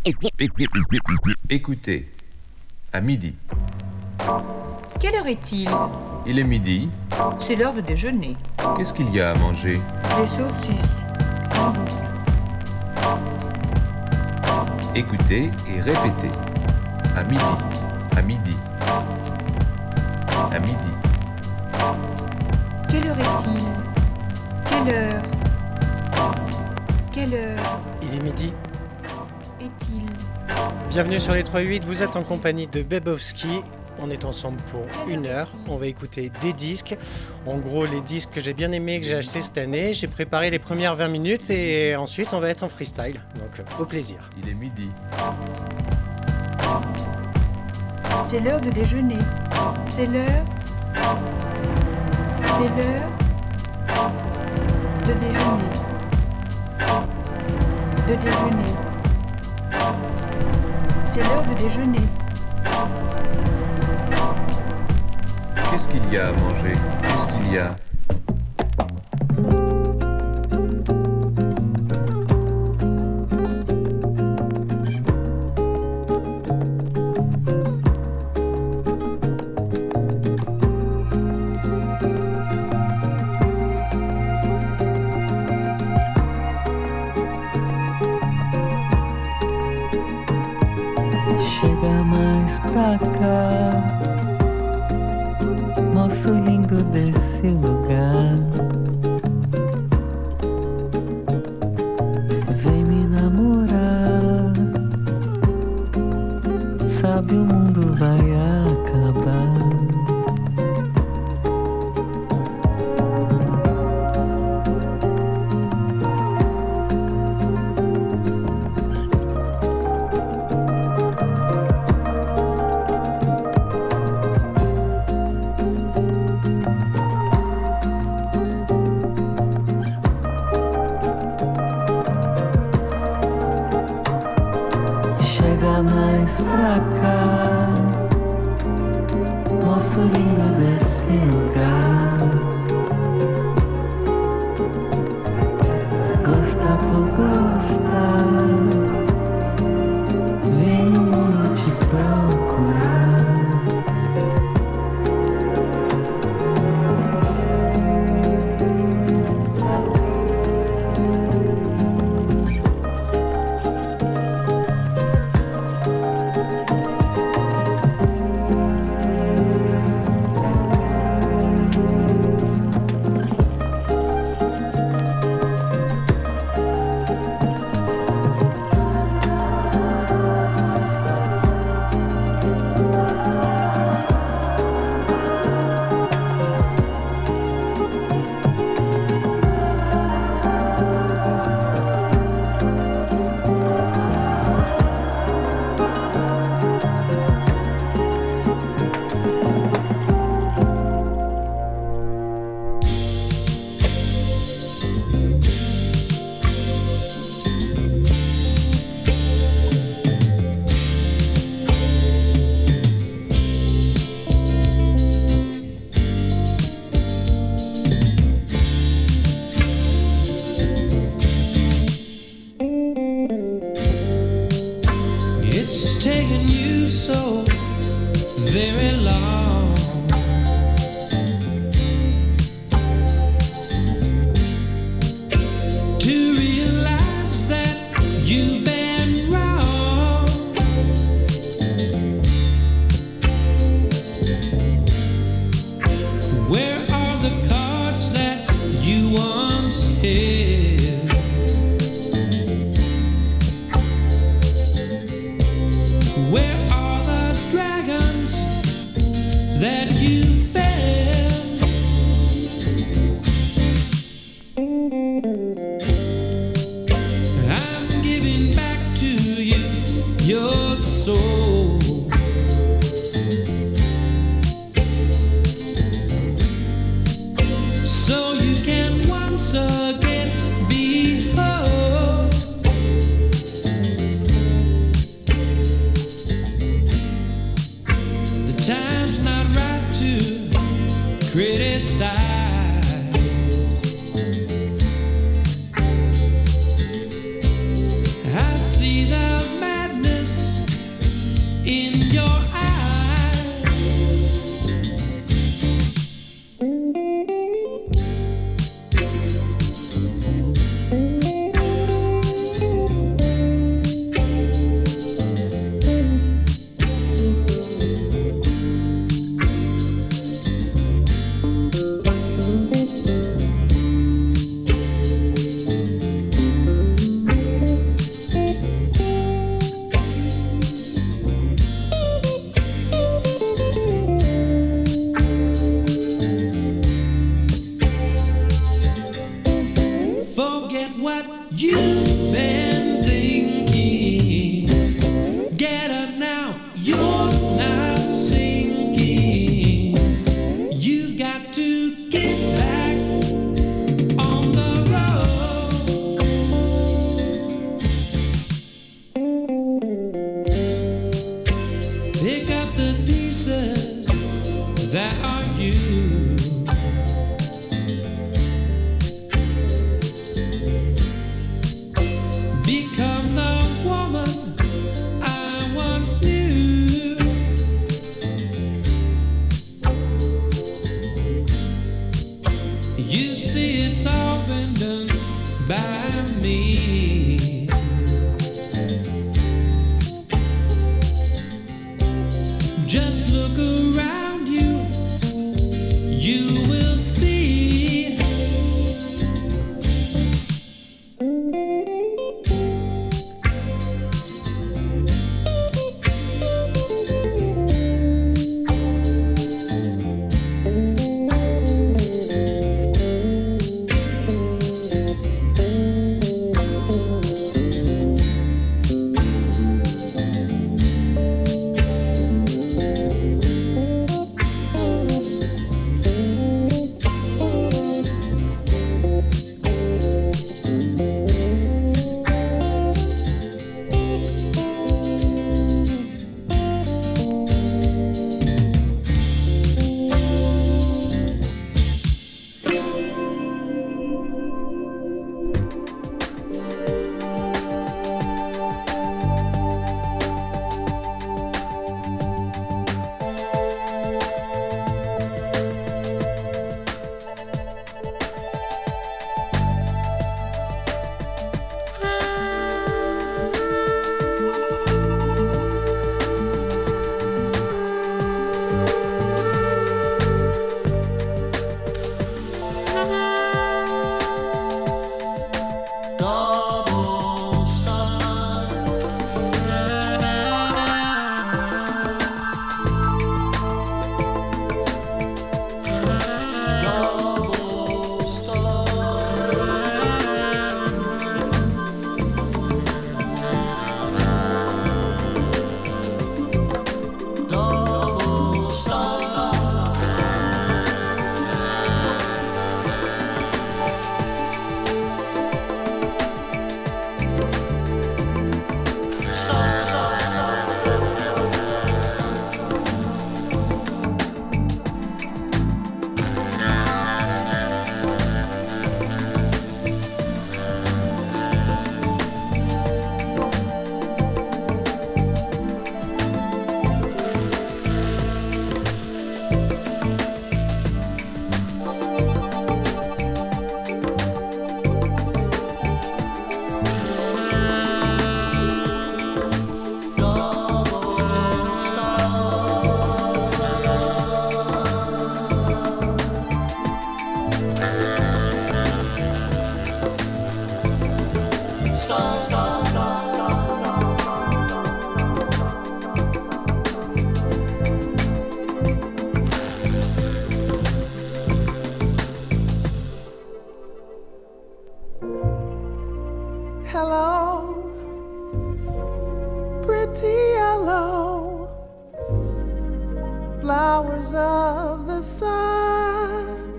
Écoutez, à midi. Quelle heure est-il ? Il est midi. C'est l'heure de déjeuner. Qu'est-ce qu'il y a à manger ? Des saucisses, sans doute. Écoutez et répétez. À midi. À midi. À midi. Quelle heure est-il ? Quelle heure ? Quelle heure Il est midi. est-il ? Bienvenue sur les 3-8, vous êtes en compagnie de Bebowski. On est ensemble pour 1 heure. On va écouter des disques. En gros, les disques que j'ai bien aimés, que j'ai achetés cette année. J'ai préparé les premières 20 minutes et ensuite on va être en freestyle. Donc, au plaisir. Il est midi. C'est l'heure de déjeuner. C'est l'heure. C'est l'heure de déjeuner. De déjeuner. C'est l'heure de déjeuner. Qu'est-ce qu'il y a à manger ? Qu'est-ce qu'il y a ? Chega mais pra cá, moço lindo desse lugar. Vem me namorar, sabe o mundo vai acabar. Mais pra cá, moço lindo desse lugar. Gosta por gostar, vem no mundo te procurar. I see the madness pretty yellow flowers of the sun.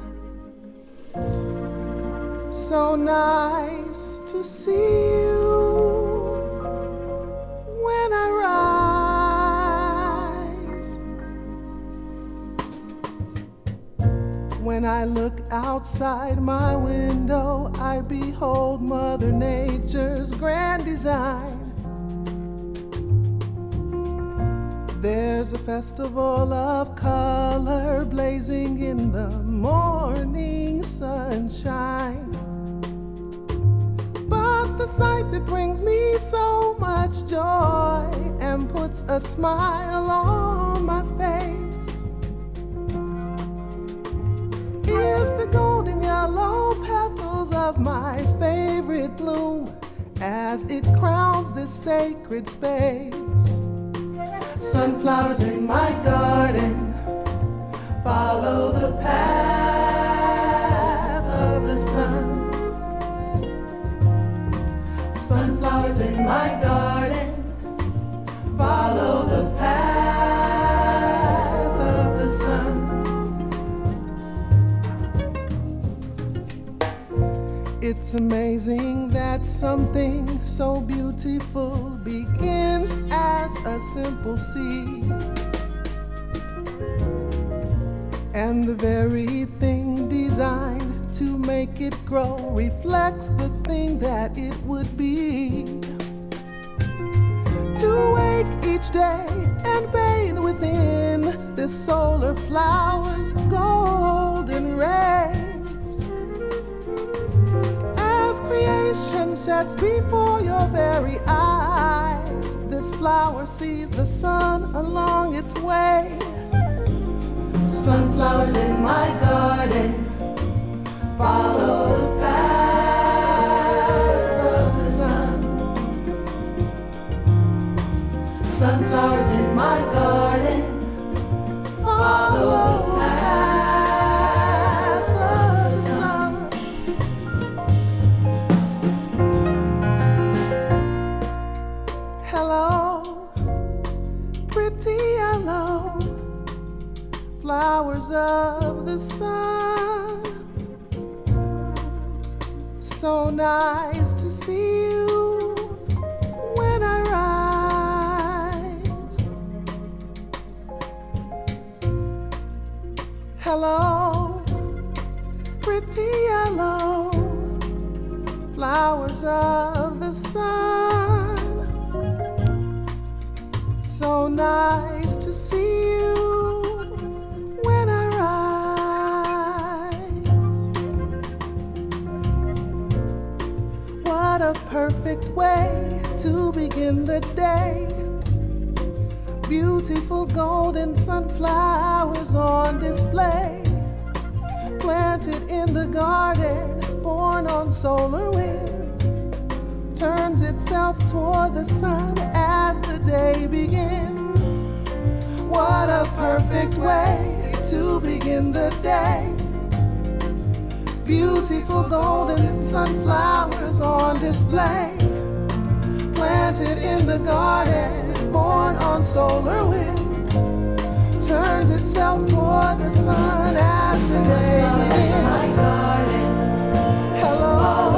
So nice to see you when I rise. When I look outside my window, I behold Mother Nature's grand design. There's a festival of color blazing in the morning sunshine. But the sight that brings me so much joy and puts a smile on my face is the golden yellow petals of my favorite bloom as it crowns this sacred space. Sunflowers in my garden follow the path of the sun. Sunflowers in my garden follow the path of the sun. It's amazing that something so beautiful begins as a simple seed, and the very thing designed to make it grow reflects the thing that it would be. To wake each day and bathe within this solar flower's golden rays. As creation sets before your very eyes, this flower sees the sun along its way. Sunflowers in my garden follow the path of the sun. Sunflowers in my garden follow the path of the sun. Hello, pretty yellow flowers of the sun. So nice to see you when I rise. Hello, pretty yellow flowers of the sun. So nice to see you when I rise. What a perfect way to begin the day. Beautiful golden sunflowers on display, planted in the garden, born on solar winds, turns itself toward the sun as the day begins. What a perfect way to begin the day. Beautiful golden sunflowers on display, planted in the garden, born on solar winds, turns itself toward the sun as the day begins. Hello,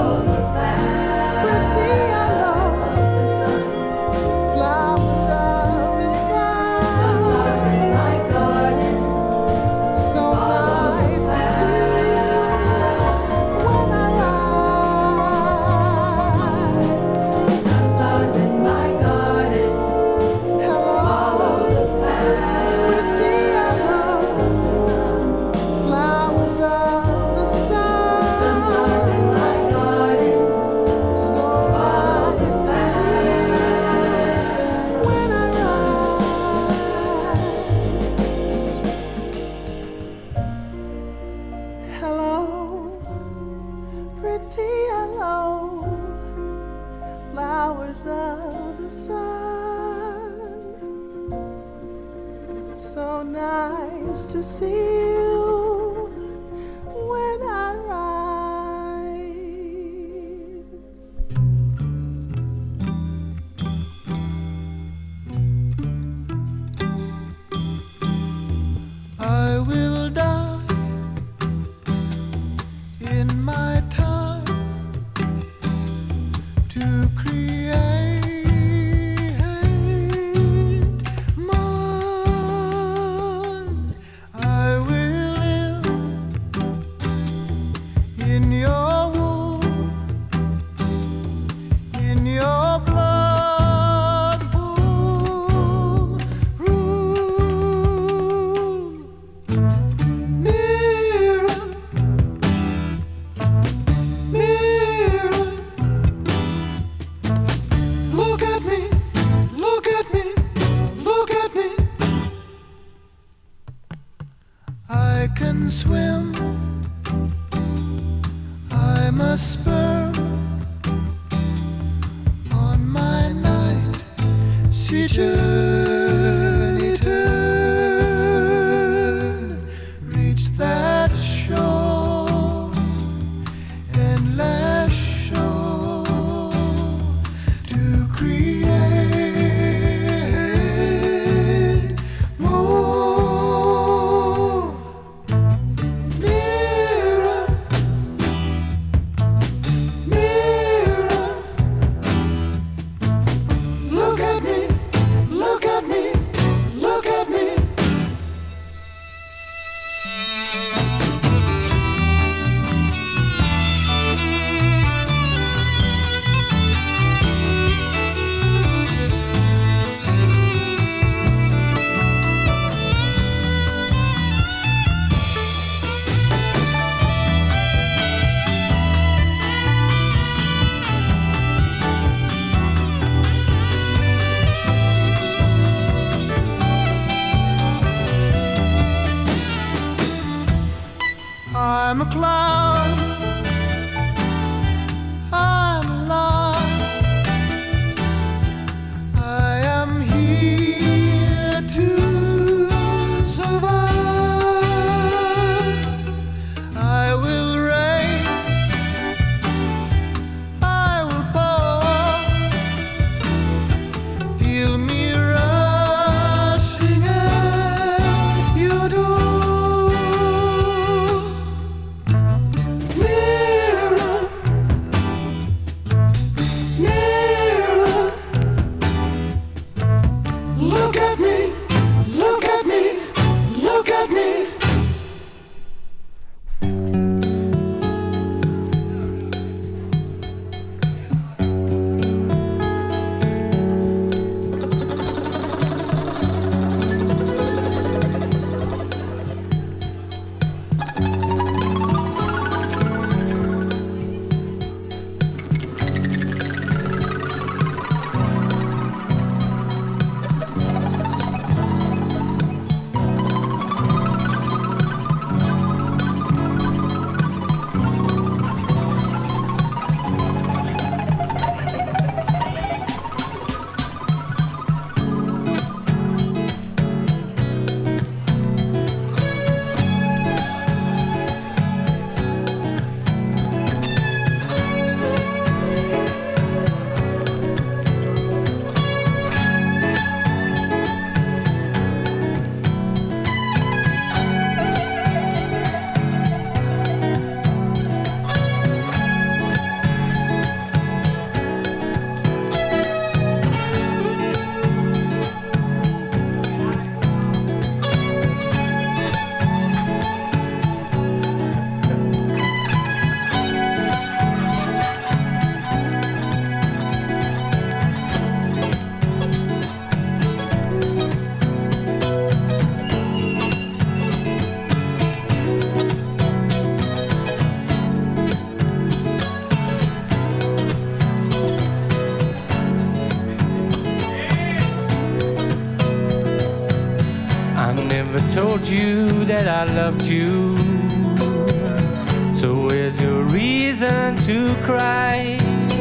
pretty yellow flowers of the sun. Sunflowers in my garden. So nice to see you when I rise. Sunflowers in my garden. Hello, pretty yellow flowers of the sun. Sunflowers in my garden. So nice to see you when I rise. Hello, pretty yellow flowers of the sun. So nice to see you when I rise. This journey turn, reach that shore, endless shore, to create more. Mirror, mirror, look at me, look at me, look at me. I'm a cloud, I'm alive, I am here to survive. I will rain, I will pour, feel me rushing at your door. Mirror, mirror, look at me, look at me, look at me. I never told you that I loved you. So where's your reason to cry?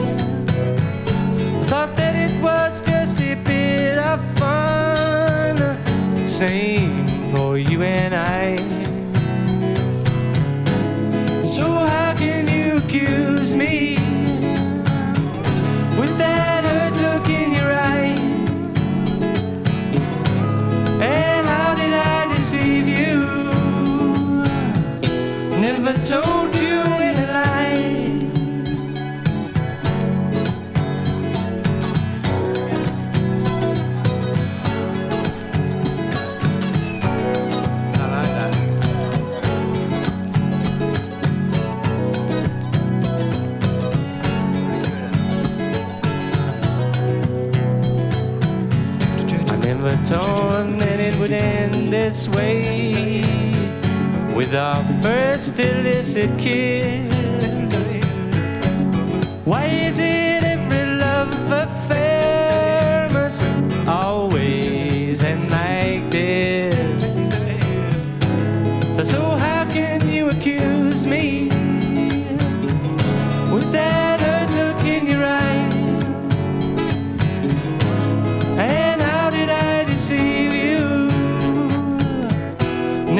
Thought that it was just a bit of fun. Same for you and I. So how can you accuse me with that hurt look in your eye? And how did I deceive you? Never told you in a lie. I like that. I never thought that it would end this way, with our first illicit kiss. Why is it every love affair must always end like this? So how can you accuse me with that hurt look in your eye? And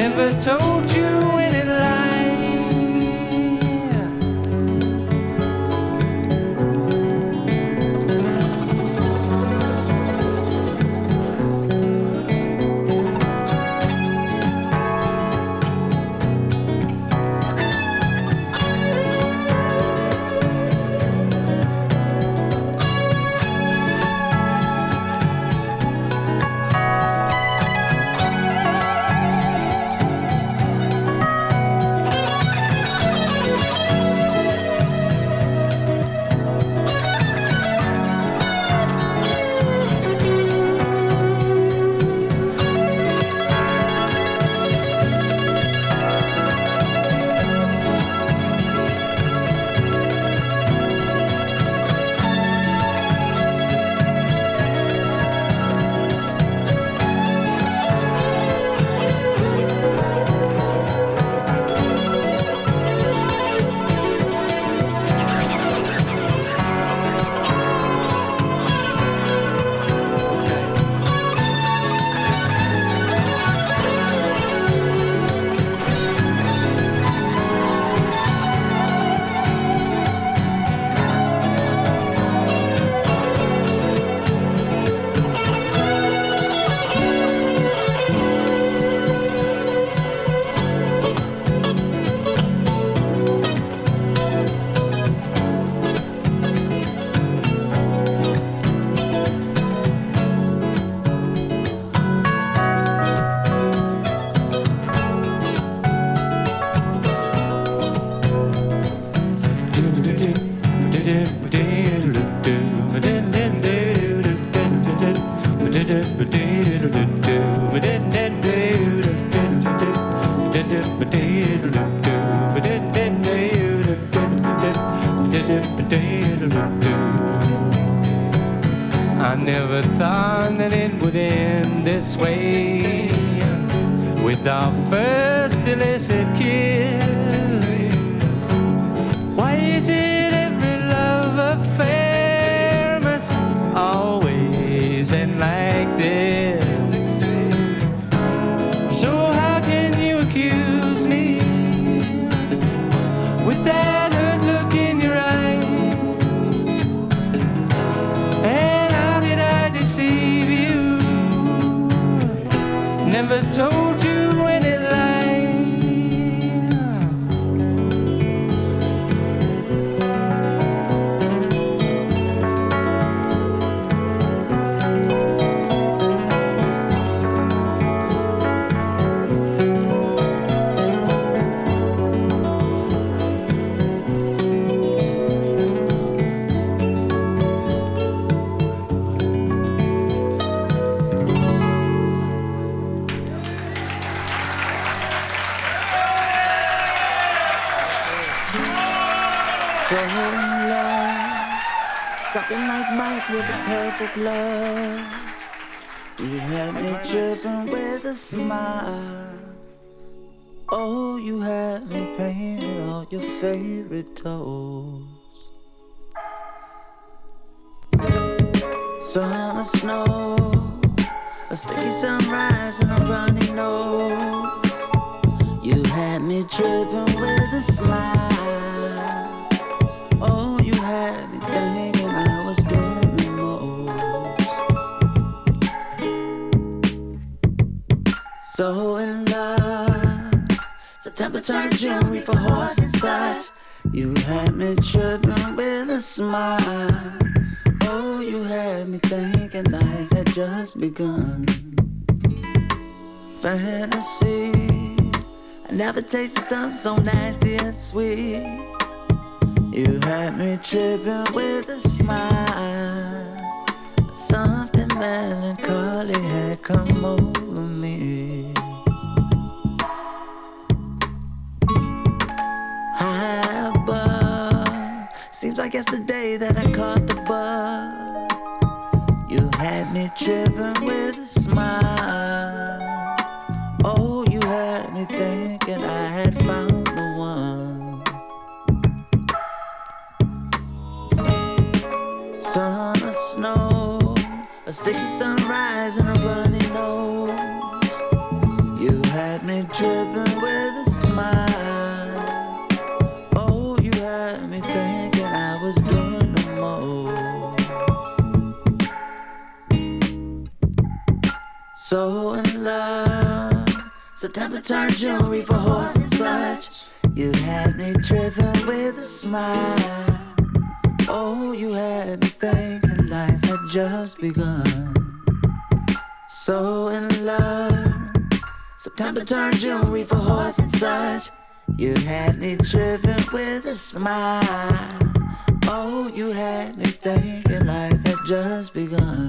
never told you any lie. I never thought that it would end this way, with our first illicit kiss. Why is it every love affair must always end like this? So how can you accuse me with that hurt look in your eye? And how did I deceive you? Never told you any lie. So in love, something like Mike with a purple glove. You had me tripping with a smile. Oh, you had me painting all your favorite toes. Sun or snow, a sticky sunrise and a runny nose. You had me tripping with a smile. Oh, you had me thinking I was doing the most. So in love, September turned to June, reef for horse and such. You had me tripping with a smile. Oh, you had me thinking life had just begun. Fantasy, I never tasted something so nasty and sweet. You had me tripping with a smile. Something melancholy had come over me. High above, seems like yesterday that I caught the bug. You had me tripping with a smile. Oh, you had me thinking I had found the one. Sun or snow, a sticky sunrise and a runny nose. You had had me dripping with a smile. Oh, you had me thinking I was doing the most. So in love, September turned jewelry for horse and such. You had me driven with a smile. Oh, you had me thinking life had just begun. So in love, September turned jewelry for horse and such. You had me driven with a smile. Oh, you had me thinking life had just begun.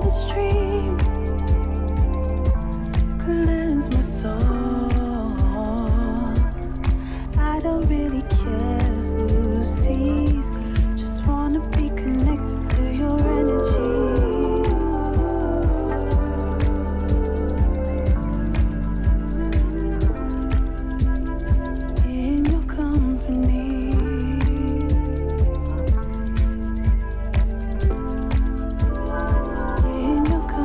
stream cleanse my soul. I don't really care who sees, just wanna be connected to your energy. In your company. In your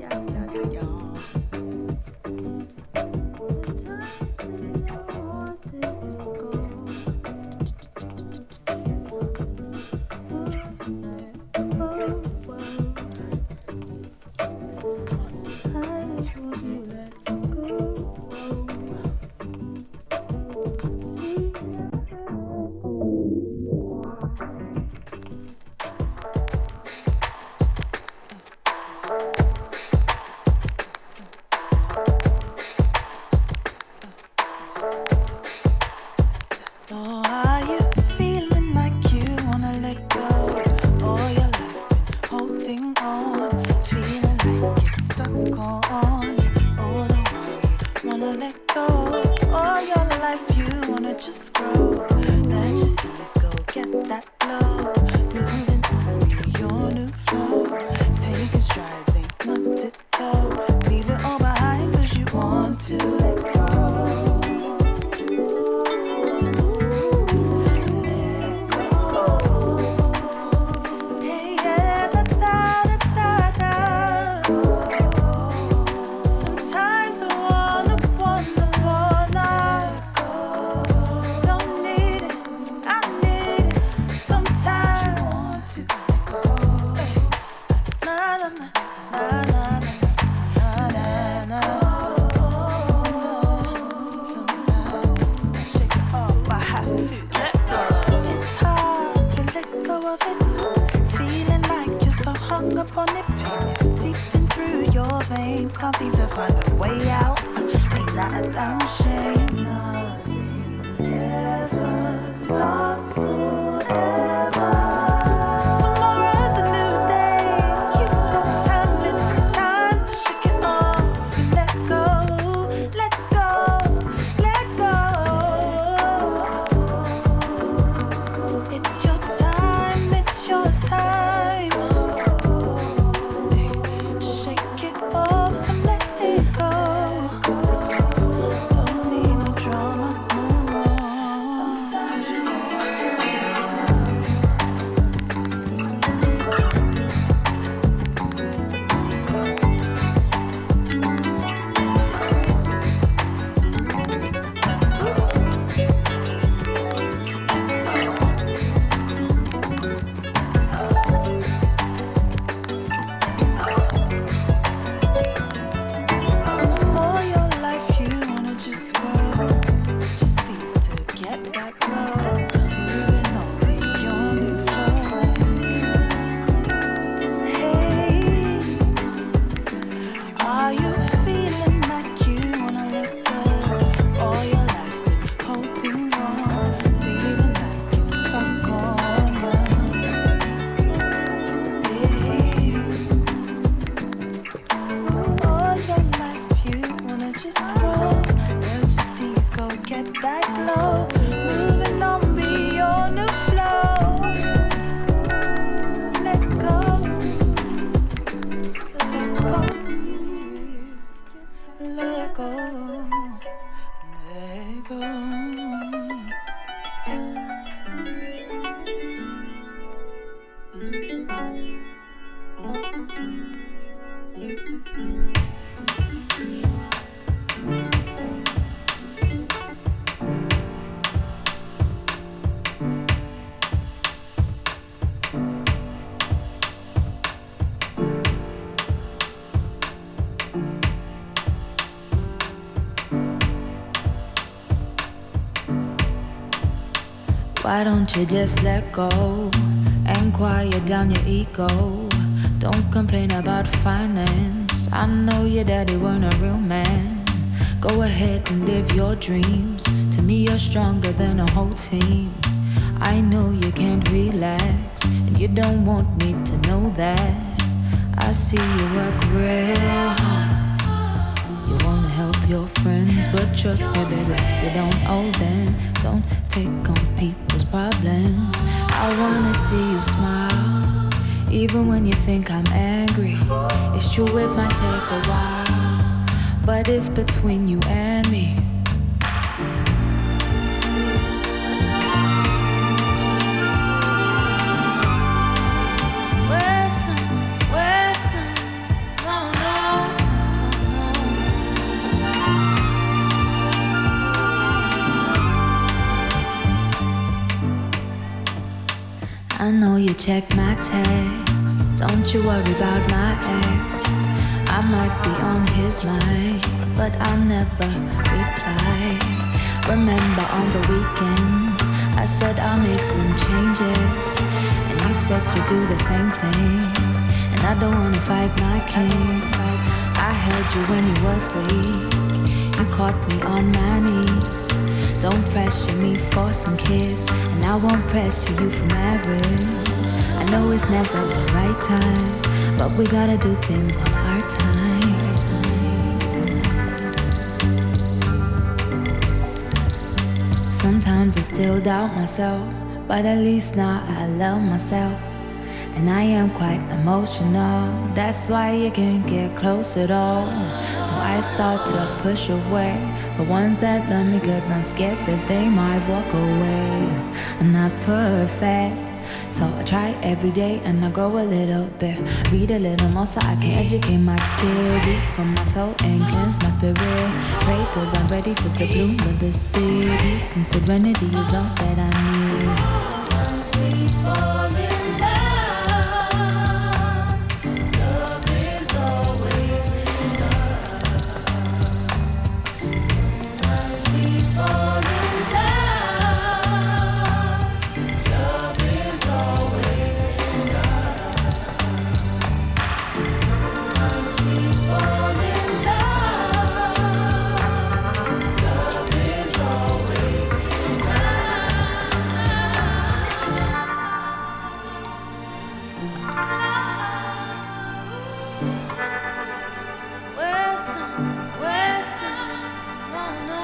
Why don't you just let go and quiet down your ego? Don't complain about finance. I know your daddy weren't a real man. Go ahead and live your dreams. To me, you're stronger than a whole team. I know you can't relax, and you don't want me to know that. I see you work real hard. You wanna help your friends, but trust me, baby, you don't owe them. Don't take on people's problems. I wanna see you smile, even when you think I'm angry. It's true, it might take a while, but it's between you and me. Wilson, no, no. I know you check my texts. Don't you worry about my ex. I might be on his mind, but I never reply. Remember on the weekend, I said I'll make some changes, and you said you'd do the same thing. And I don't wanna fight my king. I held you when you was weak. You caught me on my knees. Don't pressure me for some kids, and I won't pressure you for marriage. I know it's never the right time, but we gotta do things on our time. Sometimes I still doubt myself, but at least now I love myself. And I am quite emotional, that's why you can't get close at all. So I start to push away the ones that love me, cause I'm scared that they might walk away. I'm not perfect, so I try every day and I grow a little bit. Read a little more so I can educate my kids. Eat from my soul and cleanse my spirit. Pray cause I'm ready for the bloom of the city. Some serenity is all that I need. Sometimes we fall in love. Love is always enough. Sometimes we fall in love. Love is always enough. Sometimes we fall in love. Love is always Wilson, no.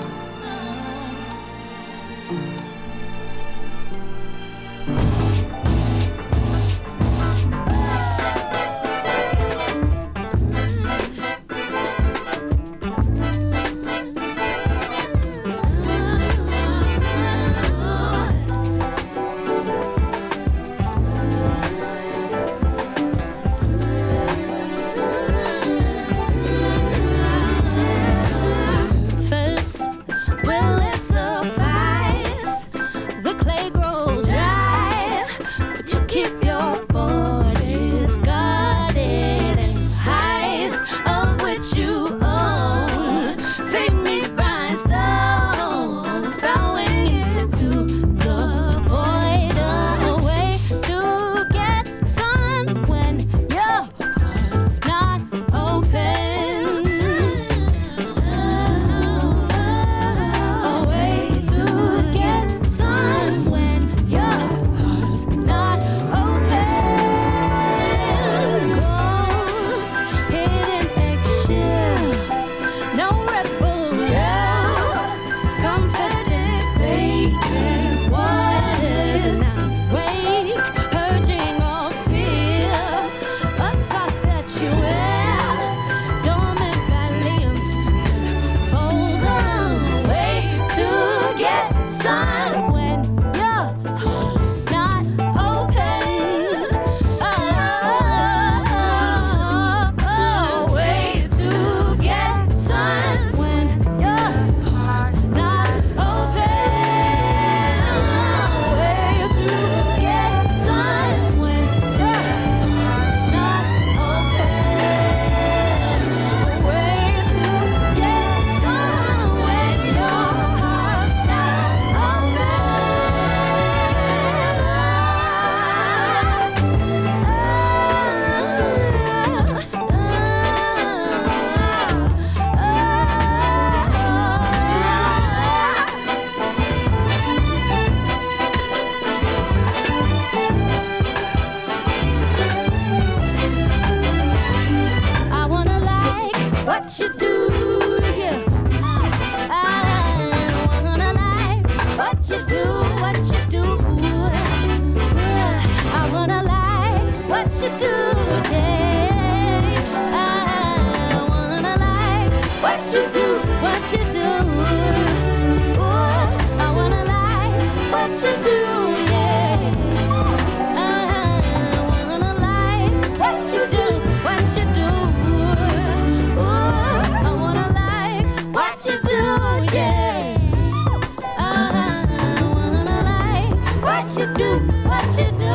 Surface, will it suffice? The clay grows dry, but you keep your bodies guarded, and heights of which you own fade me bright stones, bowing into the void. A way to get sun when your heart's not open. A way to get sun when your heart's not open. Ghost, hidden eggshell, no rebel yell, comforting vacant waters now wake, purging all fear, a task that you wear, dormant valiance folds around. Way to get sun when your heart's not open. Way to get sun when your heart's not open. Way to get sun when your heart's not open. Way to get sun when your heart's I wanna like what you do, yeah. I wanna like what you do, I wanna like what you do, yeah. I wanna like what you do, Ooh, I wanna like what you do, yeah. I wanna like what you do, Ooh, I wanna like what you do, yeah. I wanna like what you do,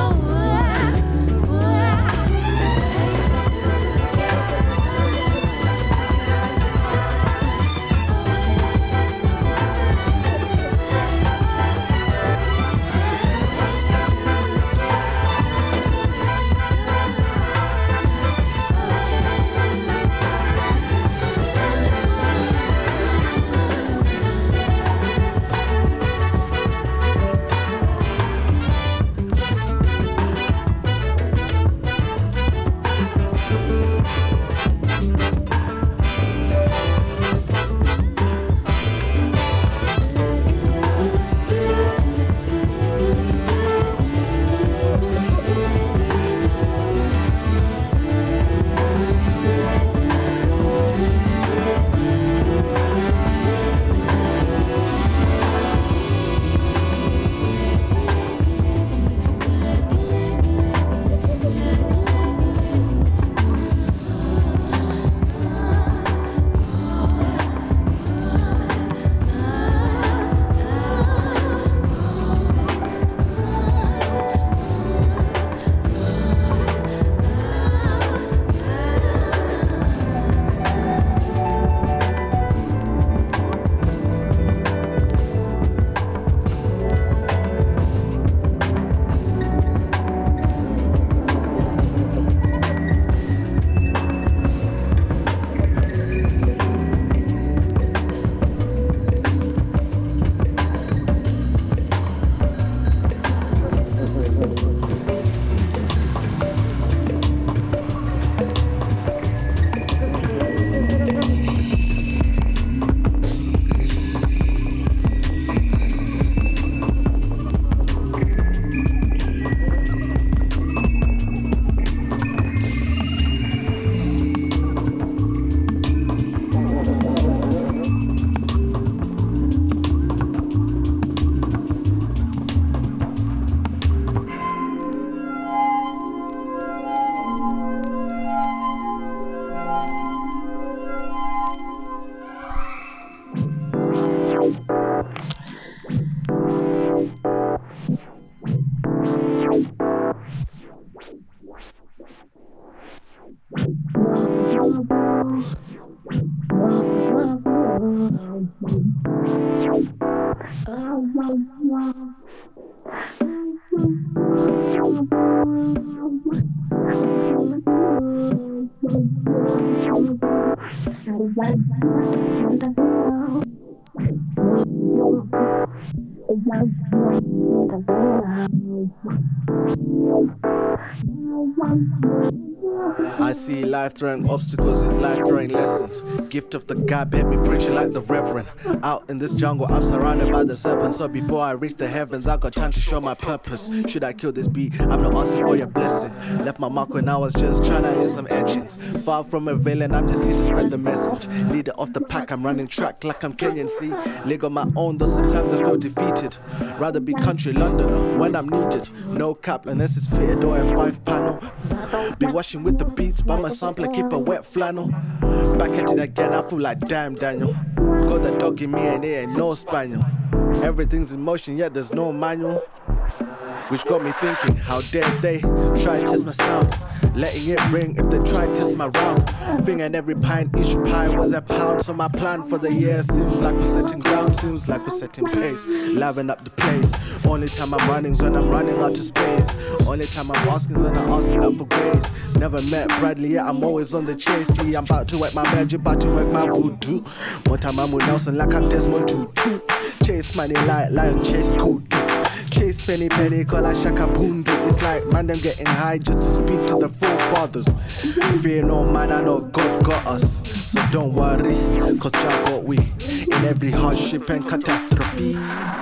I see life-throwing obstacles as life-throwing lessons. Gift of the God, let me preach it like the reverend. Out in this jungle, I'm surrounded by the serpents. So before I reach the heavens, I got time to show my purpose. Should I kill this beat? I'm not asking for your blessings. Left my mark when I was just trying to hit some etchings. Far from a villain, I'm just here to spread the message. Leader of the pack, I'm running track like I'm Kenyan, see. League on my own, though sometimes I feel defeated. Rather be country Londoner when I'm needed. No cap unless it's fitted or a 5-panel. Be washing with the beats, by my sampler, keep a wet flannel. Back at it again, I feel like damn Daniel. Got the dog in me and it ain't no spaniel. Everything's in motion, yet there's no manual. Which got me thinking, how dare they try and test my sound? Letting it ring if they try and test my round. Finger in every pint, each pie was a pound. So my plan for the year seems like we're setting ground. Seems like we're setting pace, liven up the place. Only time I'm running's when I'm running out of space. Only time I'm asking when I'm asking out for grace. Never met Bradley, yet I'm always on the chase. See, I'm about to work my magic, about to work my voodoo. One time I'm with Nelson like I'm Desmond Tutu. Chase money like lion, chase cool. Chase penny, call like Shaka Bundu. It's like man, them getting high just to speak to the forefathers. Fear no man, I know God got us. So don't worry, cause Jah got we. In every hardship and catastrophe.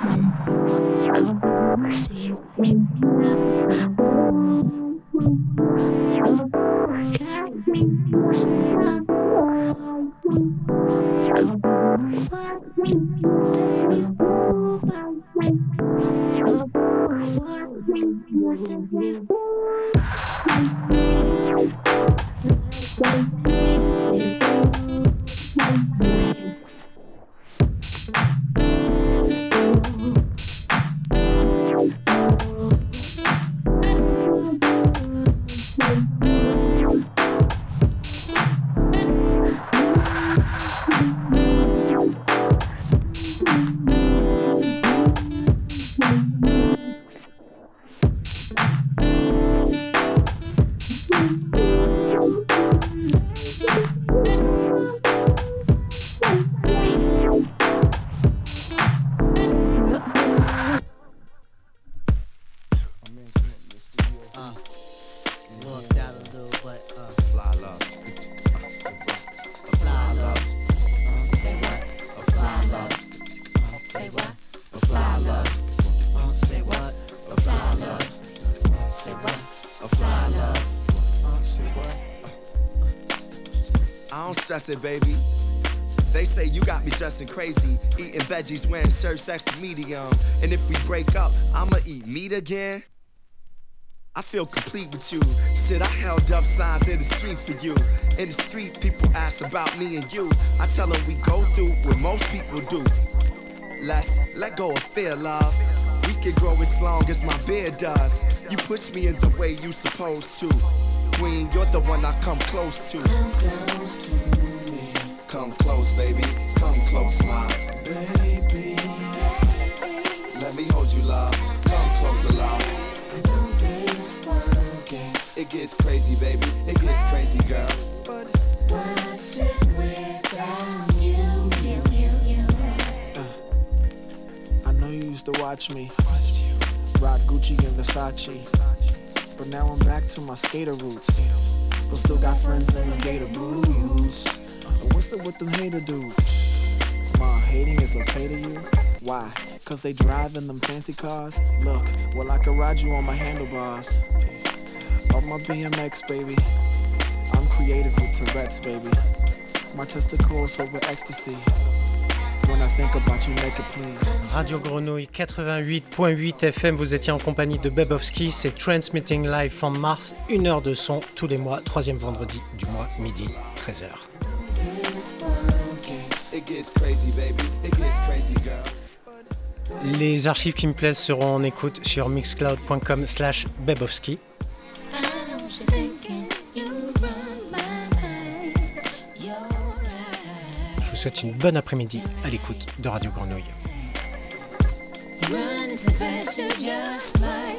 It, baby. They say you got me dressing crazy, eating veggies, wearing shirts extra medium. And if we break up, I'ma eat meat again. I feel complete with you. Shit, I held up signs in the street for you. In the street, people ask about me and you. I tell them we go through what most people do. Let's let go of fear, love. We can grow as long as my beard does. You push me in the way you supposed to. Queen, you're the one I come close to. Come close to me. Come close, baby. Come close, my baby. Let me hold you, love. Come closer, love. It gets crazy, baby. It gets crazy, girl. But what's it without you? I know you used to watch me rock Gucci and Versace. But now I'm back to my skater roots. But still got friends in the gator blues. What's up with them hater dudes? Ma, hating is okay to you? Why? Cause they drive in them fancy cars? Look, well I could ride you on my handlebars. On my BMX, baby. I'm creative with Tourette's, baby. My testicles filled with ecstasy. When I think about you, make it please. Radio Grenouille 88.8 FM, vous étiez en compagnie de Bebowski, c'est Transmitting Live from Mars, 1 heure de son tous les mois, 3e vendredi du mois, midi, 13h. Les archives qui me plaisent seront en écoute sur mixcloud.com/Bebowski. Je vous souhaite une bonne après-midi à l'écoute de Radio Grenouille. Running so fast, you're just like